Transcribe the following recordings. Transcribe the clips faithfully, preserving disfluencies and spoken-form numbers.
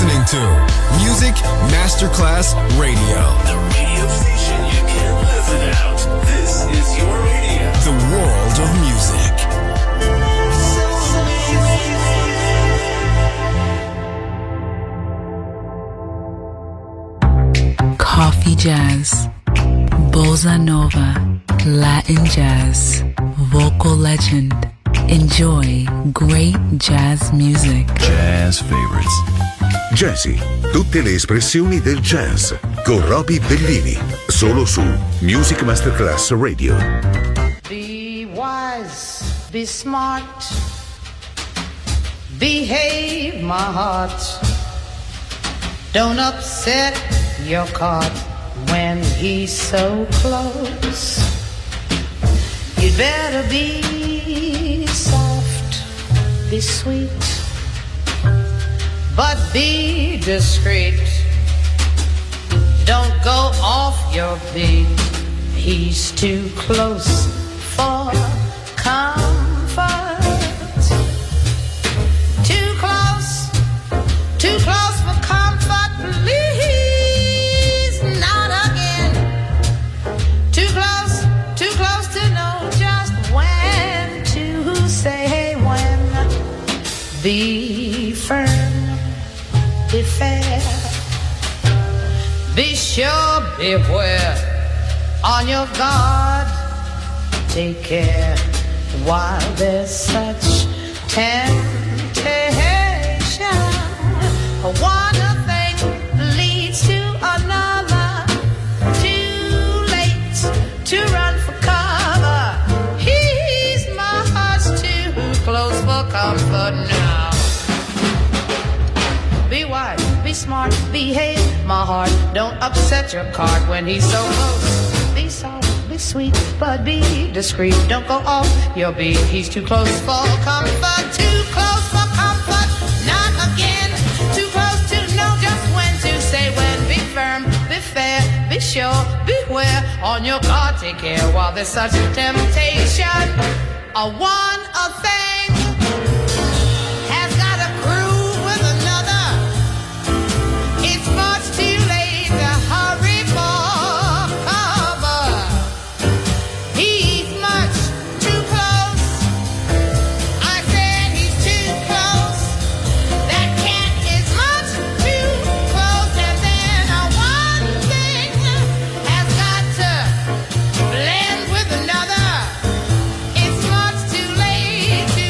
listening to Music Masterclass Radio. The radio station you can't live without. This is your radio. The world of music. Coffee jazz, bossa nova, Latin jazz, vocal legend. Enjoy great jazz music. Jazz favorites. Jazzy, tutte le espressioni del jazz con Roby Bellini, solo su Music Masterclass Radio. Be wise, be smart, behave my heart. Don't upset your cart when he's so close. You'd better be soft, be sweet, but be discreet. Don't go off your beat. He's too close for comfort. Too close, too close for comfort. Please, not again. Too close, too close to know just when to say when. Be firm, be fair, be sure, beware, on your guard, take care while there's such temptation. One thing leads to another, too late to run for cover. He's my heart's too close for comfort now. Be wise, be smart, behave my heart. Don't upset your cart when he's so close. Be soft, be sweet, but be discreet. Don't go off your beat. He's too close for comfort. Too close for comfort. Not again. Too close to know just when to say when. Be firm, be fair, be sure, beware. On your guard, take care while there's such temptation. A one, a thing has got a groove with another. It's much too late to hurry for cover. He's much too close. I said he's too close. That cat is much too close. And then a one thing has got to blend with another. It's much too late to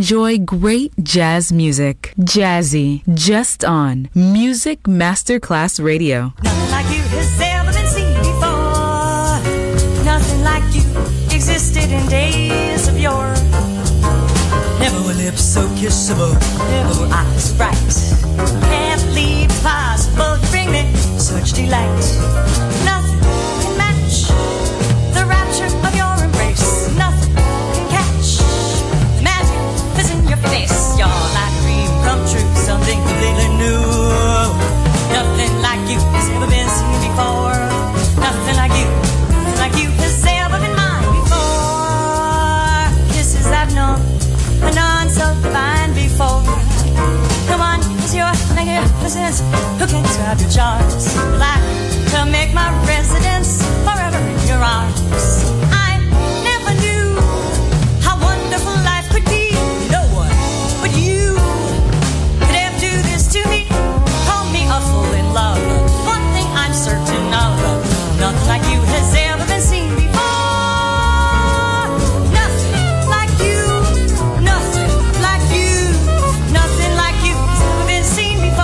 enjoy great jazz music. Jazzy, just on Music Masterclass Radio. Nothing like you has ever been seen before. Nothing like you existed in days of yore. Never were lips so kissable, never were eyes bright. Can't believe it's possible to bring me such delight. Nothing can match the rapture of your embrace. Nothing can catch the magic that's in your face. You're like a dream come true, something completely new. Nothing like you has ever been seen before. Nothing like you, nothing like you has ever been mine before. Kisses I've known, but none so divine before. No one is your magnificence who can describe your charms. Like to make my residence forever in your arms. I never knew how wonderful life could be. No one but you could ever do this to me. Call me a fool in love. One thing I'm certain of, nothing like you has ever been seen before. Nothing like you, nothing like you, nothing like you has ever been seen before.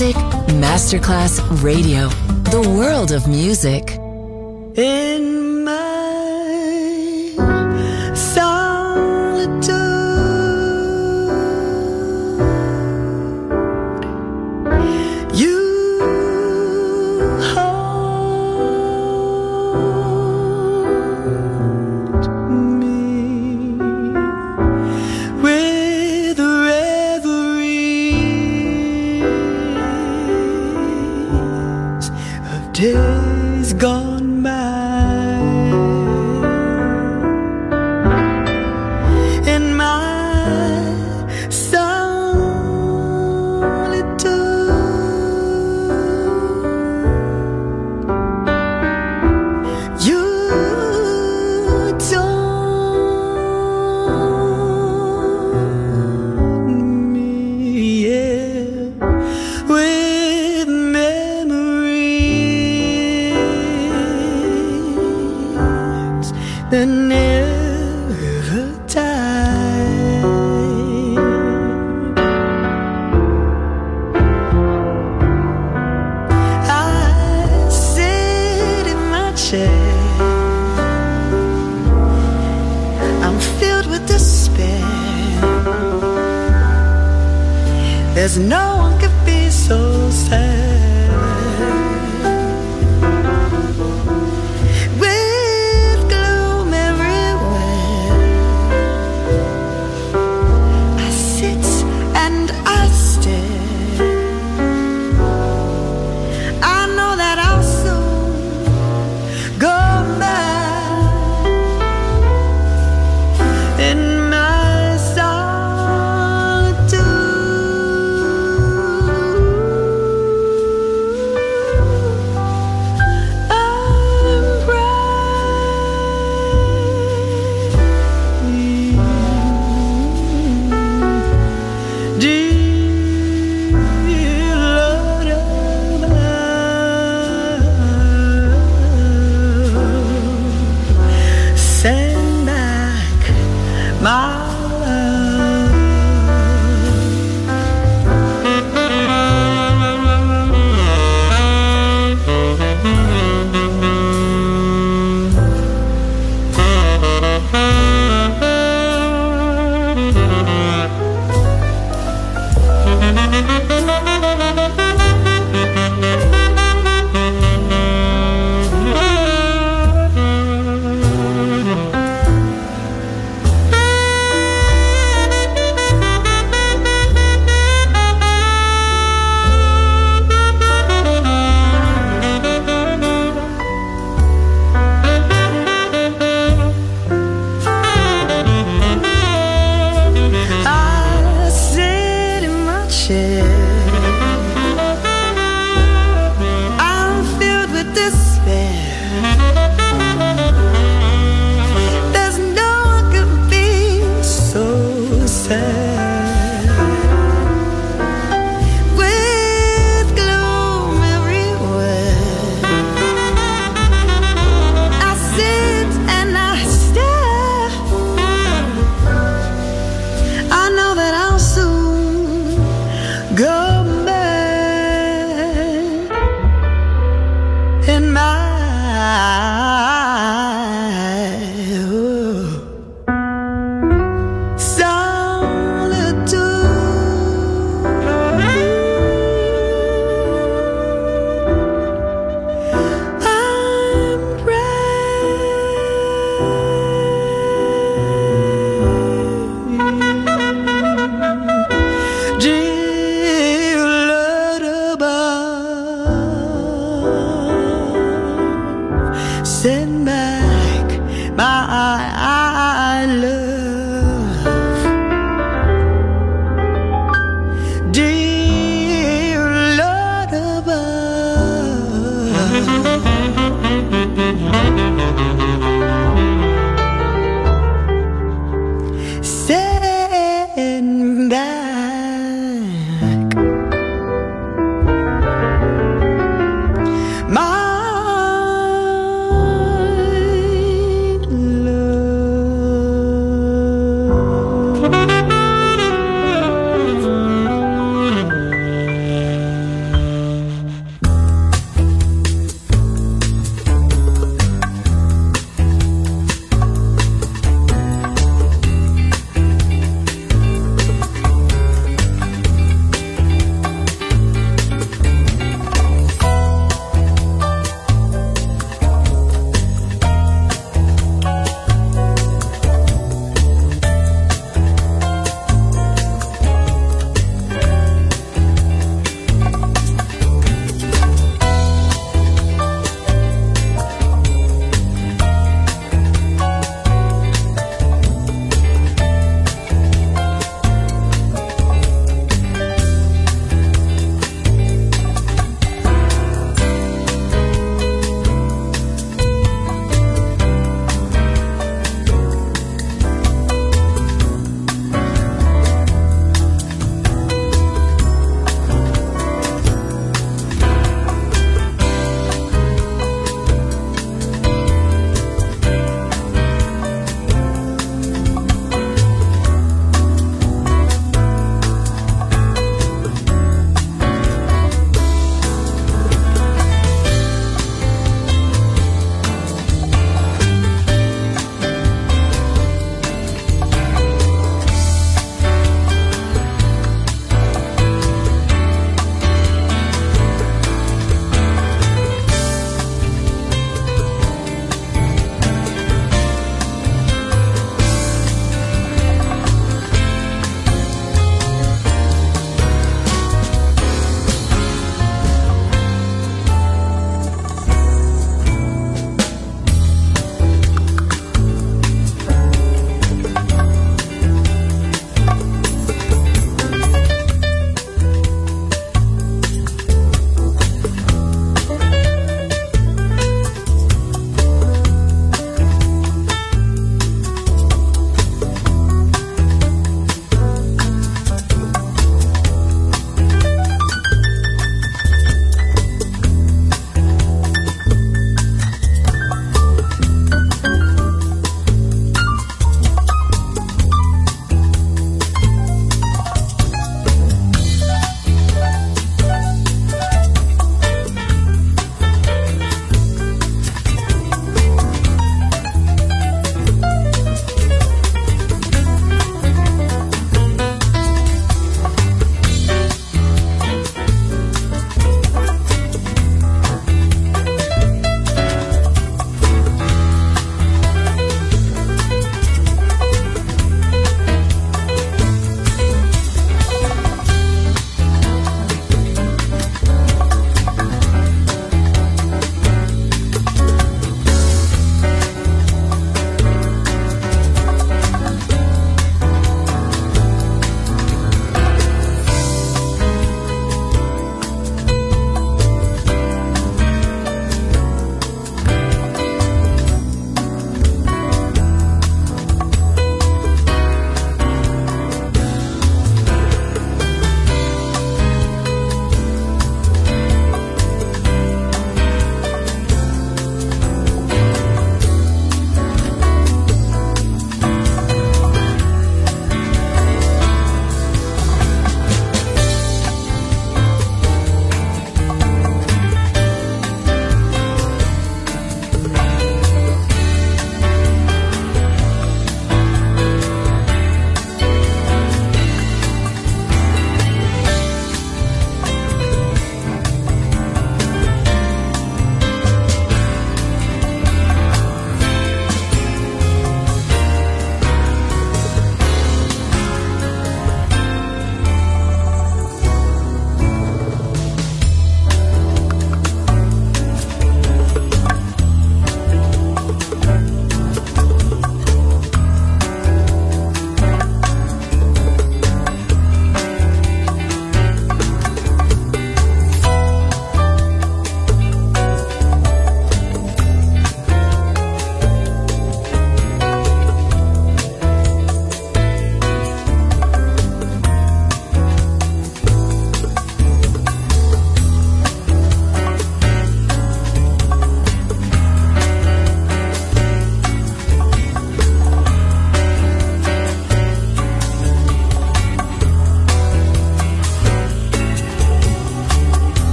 Music Masterclass Radio. The world of music. In my solitude, you hold me with reveries of days gone by. In my solitude, you taught me, yeah, with memories that never die. I sit in my chair, I'm filled with despair. There's no one could be so sad. With gloom everywhere, I sit and I stare. I know that I'll soon go mad in my solitude. I'm brave, dear Lord of mine. Send back my I sit in my chair, I'm filled with despair. There's no one could be so sad. With gloom everywhere, I sit and I stare. I know that I'll soon go mad in my solitude. I'm brave, dear Lord above. Send back my love, dear Lord above. Send back my love.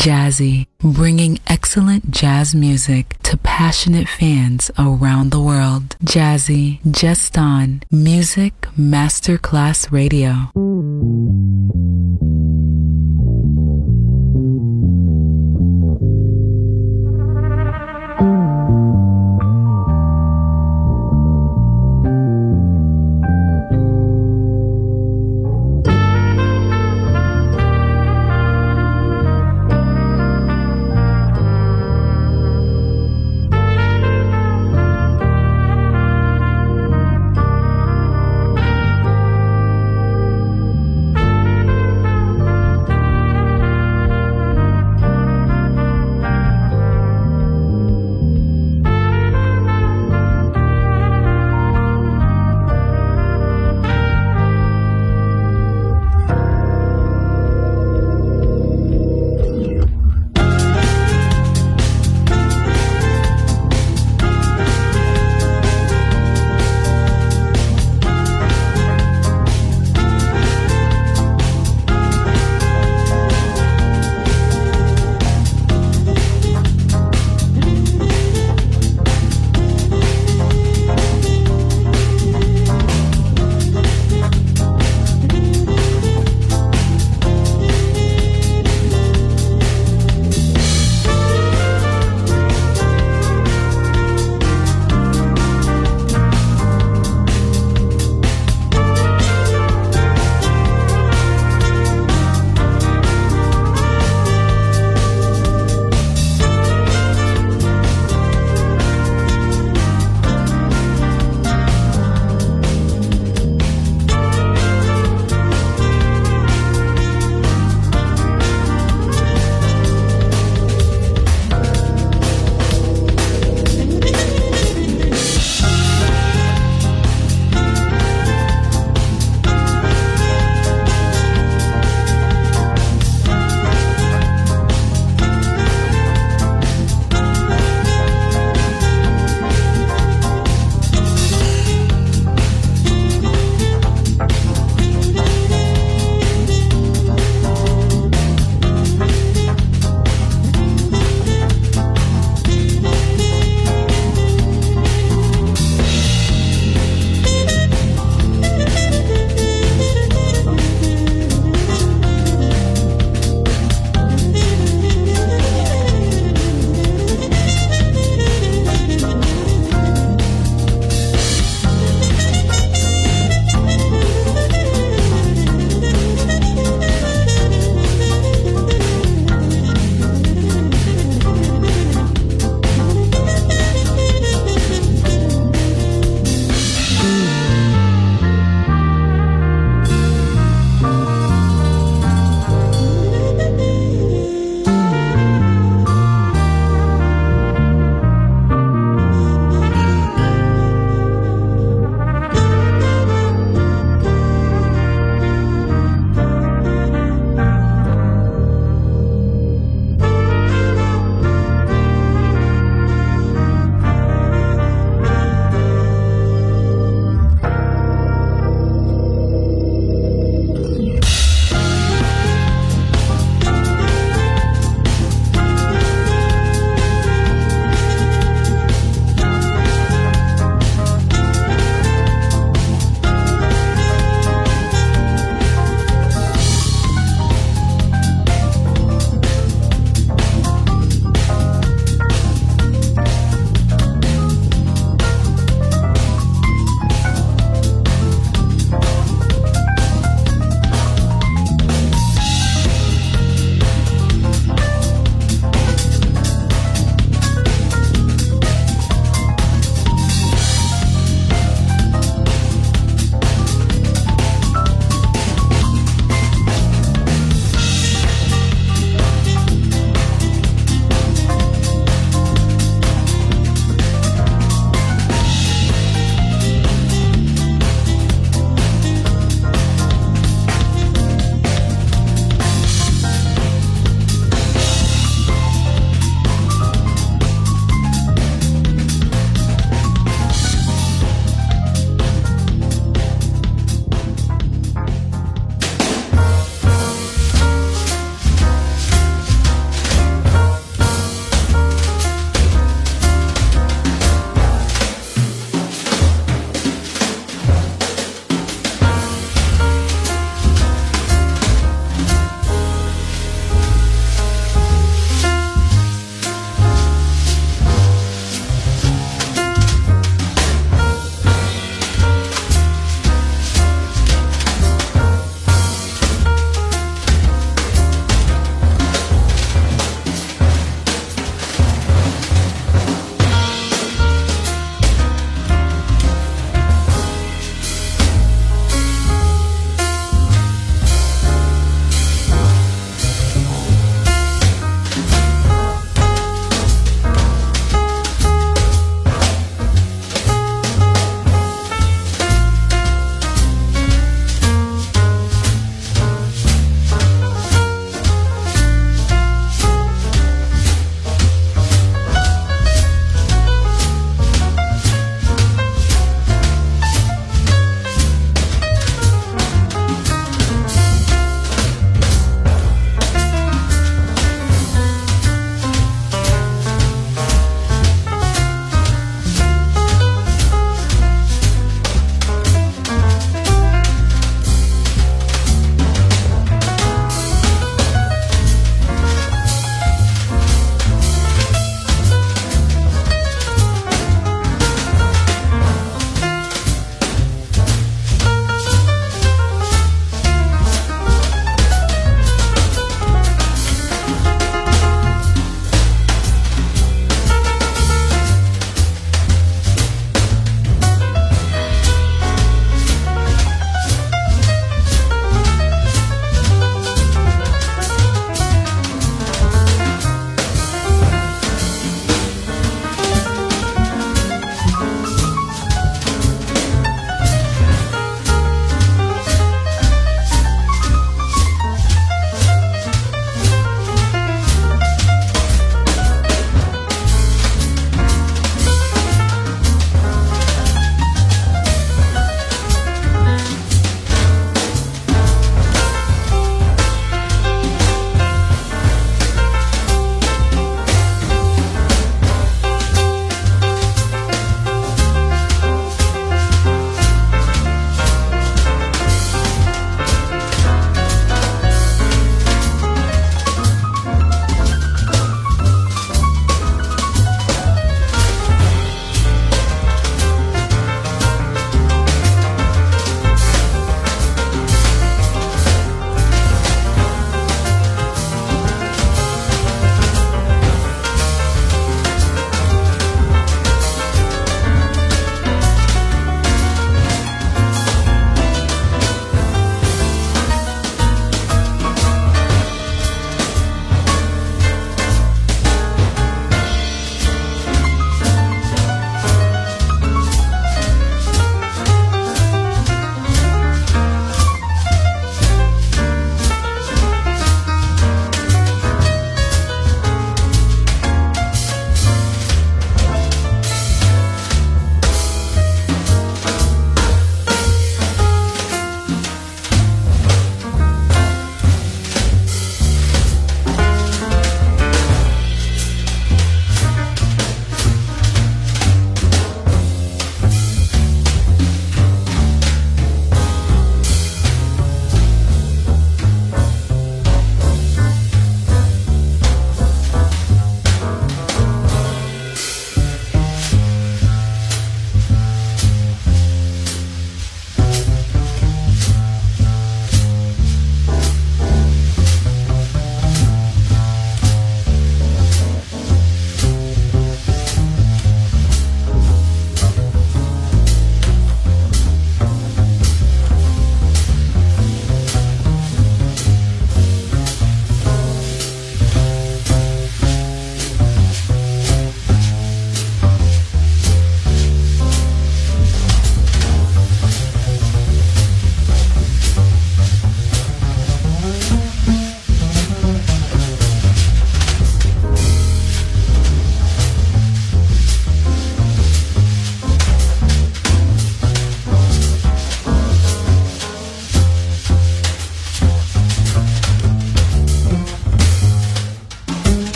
Jazzy, bringing excellent jazz music to passionate fans around the world. Jazzy, just on Music Masterclass Radio.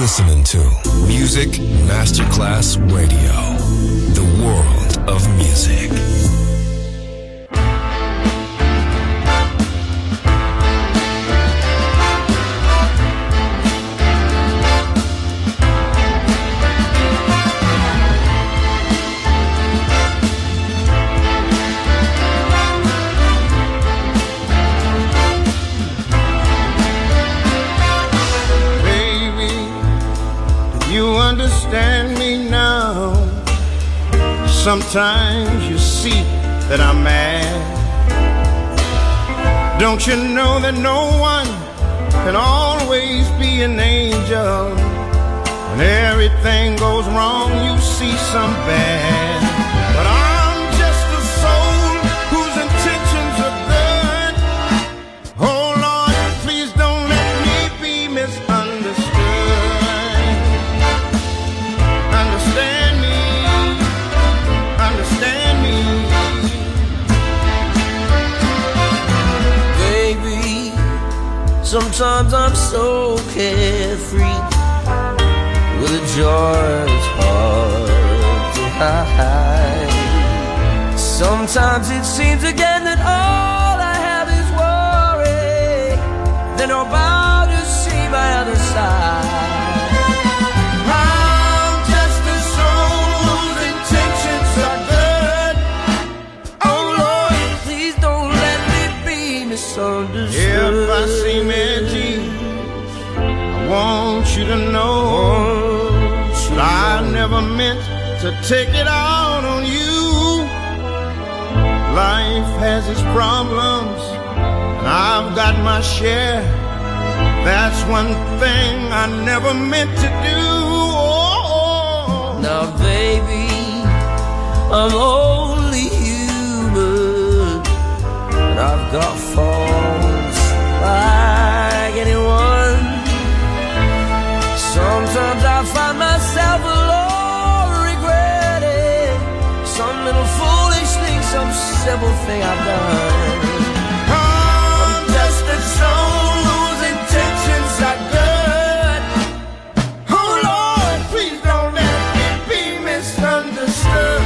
listening to Music Masterclass Radio, the world of music. Understand me now. Sometimes you see that I'm mad. Don't you know that no one can always be an angel? When everything goes wrong, you see some bad. But I'm just a soul whose intentions are good. Oh Lord, please don't let me be misunderstood. Understand me, understand me. Baby, sometimes I'm so carefree, with a joy that's hard to hide. Sometimes it seems again that all I have is worry, then I'm about to see my other side. If I seem edgy, I want you to know that I never meant to take it out on you. Life has its problems, and I've got my share. That's one thing I never meant to do. Oh. Now, baby, I'm only human, and I've got faults like anyone. Sometimes I find myself alone regretting some little foolish thing, some simple thing I've done. I'm just a soul whose intentions are good. Oh Lord, please don't let me be misunderstood.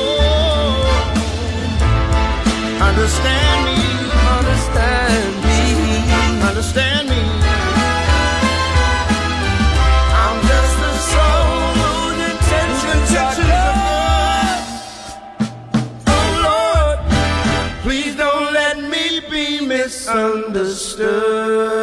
Oh, understand me. Understand me, understand me. I'm just a soul whose intentions are good. Oh Lord, please don't let me be misunderstood.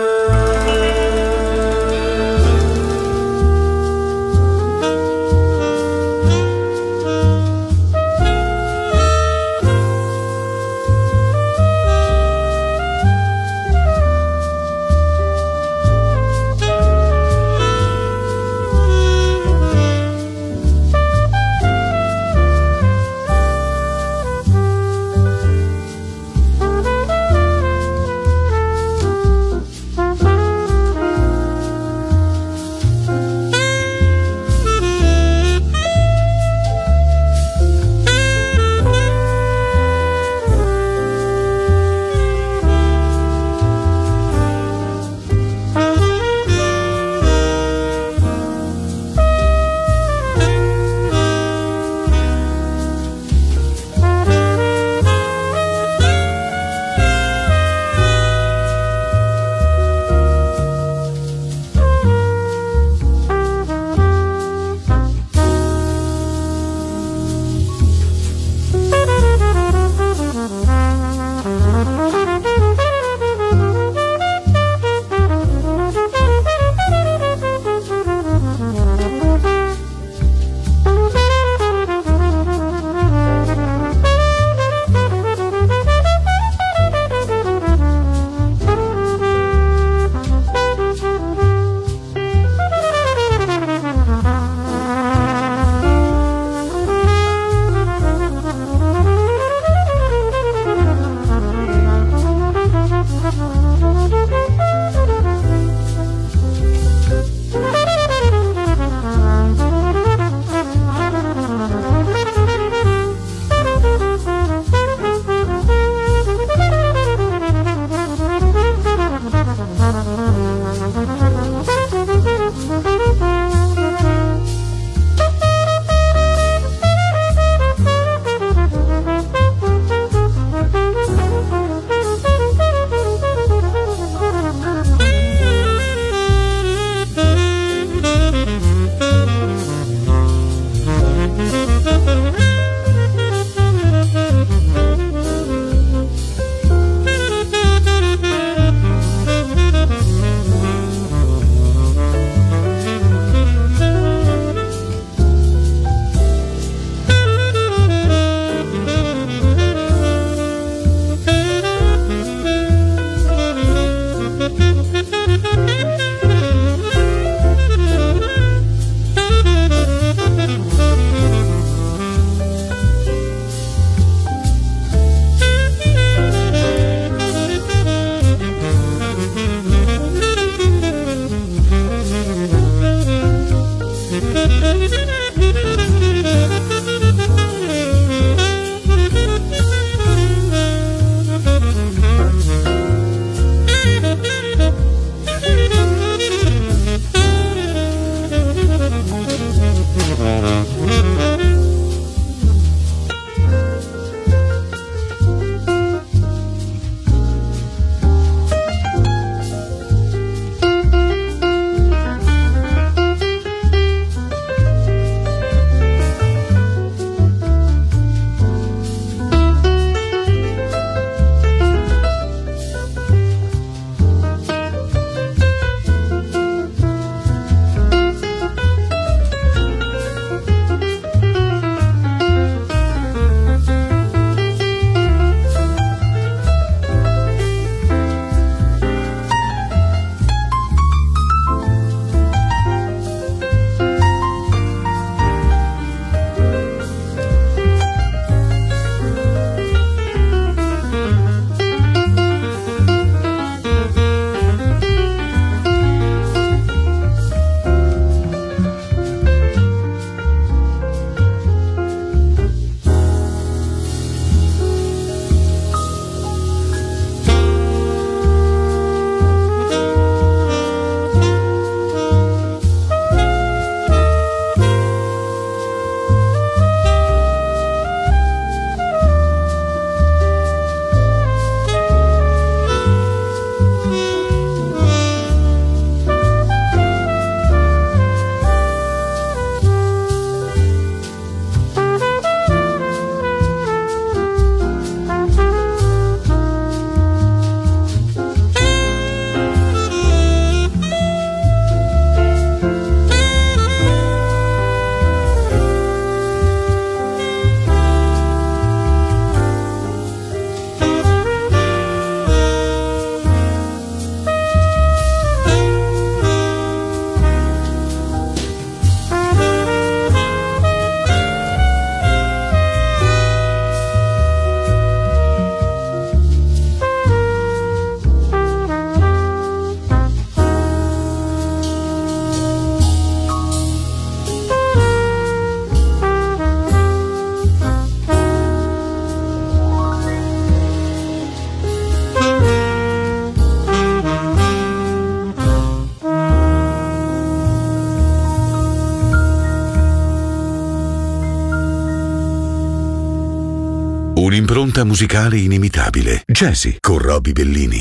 un'impronta musicale inimitabile. Jazzy con Roby Bellini.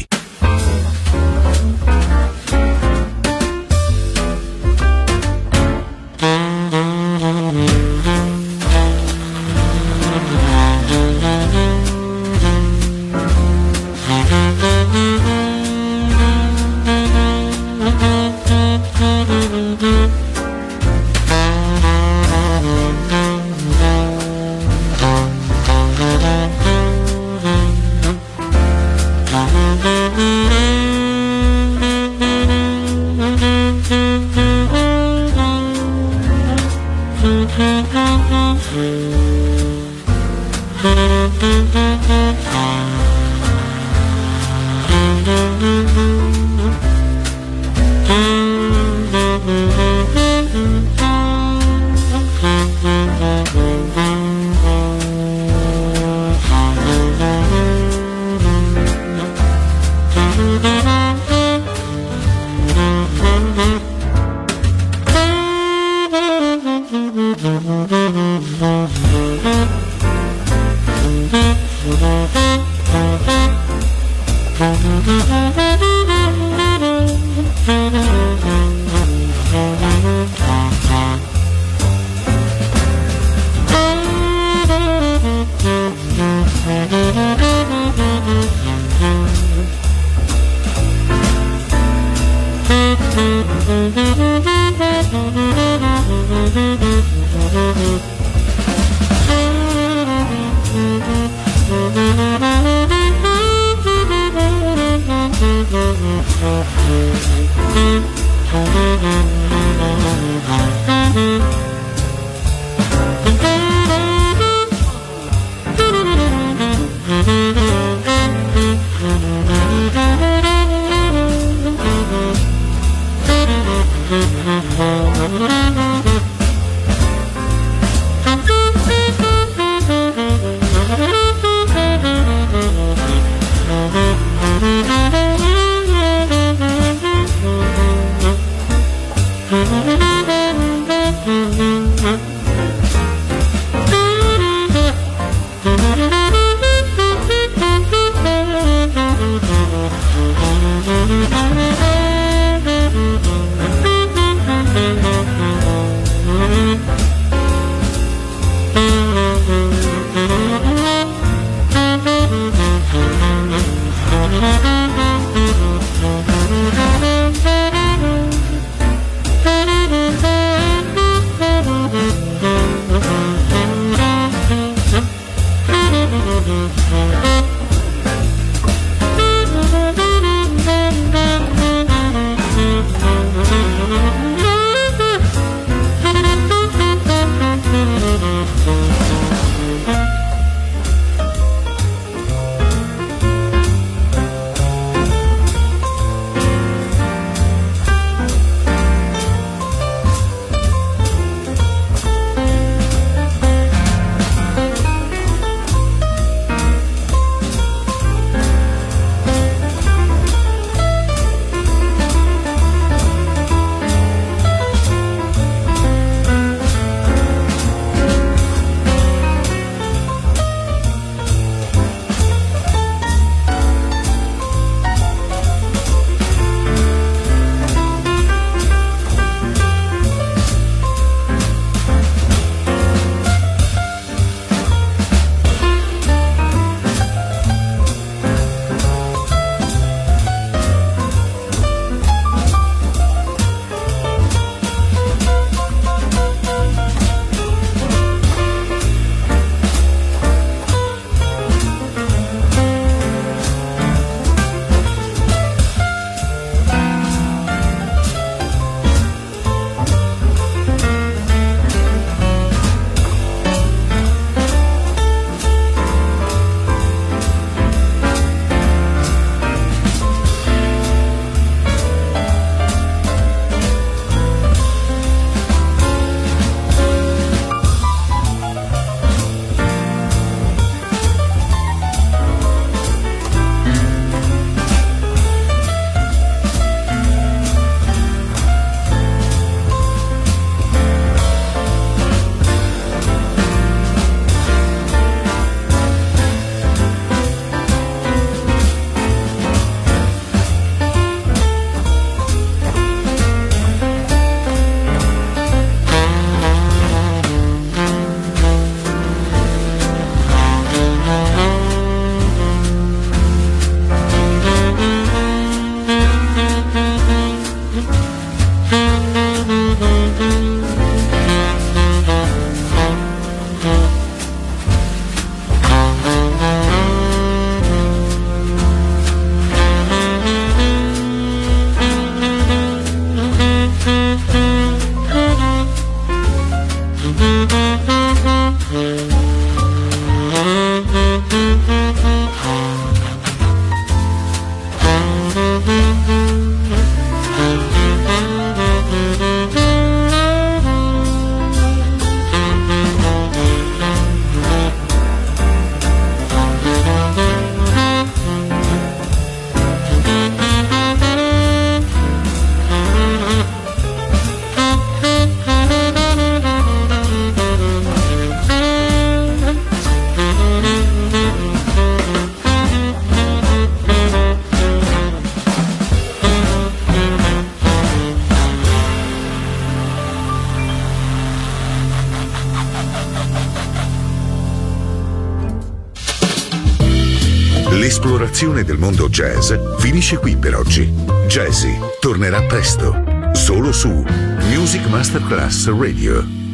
l'esplorazione del mondo jazz finisce qui per oggi. Jazzy tornerà presto, solo su Music Masterclass Radio.